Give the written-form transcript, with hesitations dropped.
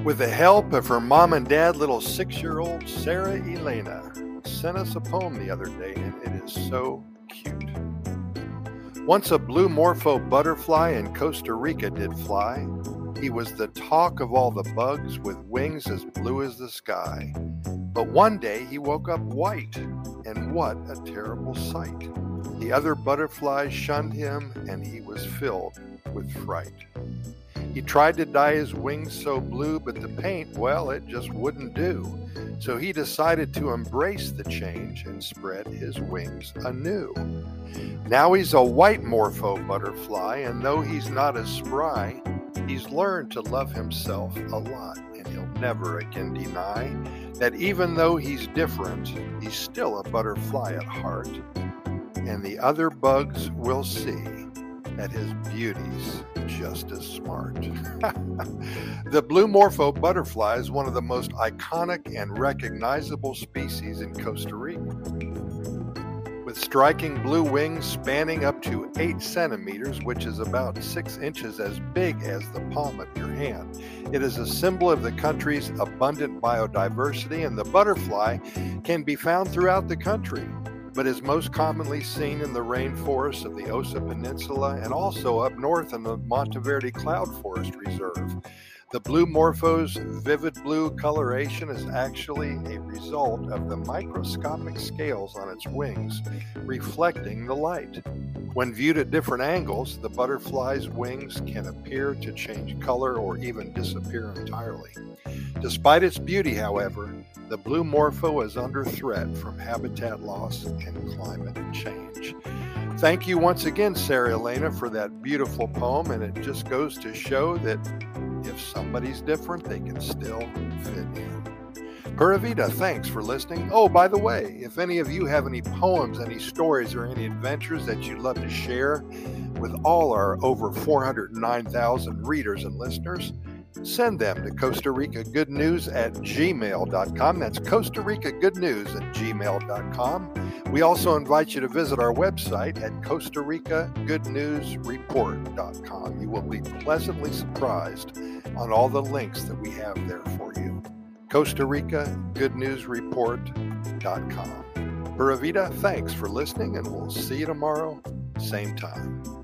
With the help of her mom and dad, little 6-year-old Sarah Elena sent us a poem the other day, and it is so cute. Once a blue morpho butterfly in Costa Rica did fly. He was the talk of all the bugs with wings as blue as the sky. But one day he woke up white, and what a terrible sight. The other butterflies shunned him, and he was filled with fright. He tried to dye his wings so blue, but the paint, well, it just wouldn't do. So he decided to embrace the change and spread his wings anew. Now he's a white morpho butterfly, and though he's not as spry, he's learned to love himself a lot, and he'll never again deny that even though he's different, he's still a butterfly at heart. And the other bugs will see that his beauty's just as smart. The blue morpho butterfly is one of the most iconic and recognizable species in Costa Rica. With striking blue wings spanning up to 8 centimeters, which is about 6 inches as big as the palm of your hand. It is a symbol of the country's abundant biodiversity, and the butterfly can be found throughout the country, but is most commonly seen in the rainforests of the Osa Peninsula and also up north in the Monteverde Cloud Forest Reserve. The blue morpho's vivid blue coloration is actually a result of the microscopic scales on its wings reflecting the light. When viewed at different angles, the butterfly's wings can appear to change color or even disappear entirely. Despite its beauty, however, the blue morpho is under threat from habitat loss and climate change. Thank you once again, Sarah Elena, for that beautiful poem, and it just goes to show that if somebody's different, they can still fit in. Pura Vida, thanks for listening. Oh, by the way, if any of you have any poems, any stories, or any adventures that you'd love to share with all our over 409,000 readers and listeners, send them to Costa Rica Good News at gmail.com. That's Costa Rica Good News at gmail.com. We also invite you to visit our website at Costa Rica Good News Report.com. You will be pleasantly surprised on all the links that we have there for you. Costa Rica Good News Report.com. Pura Vida, thanks for listening, and we'll see you tomorrow, same time.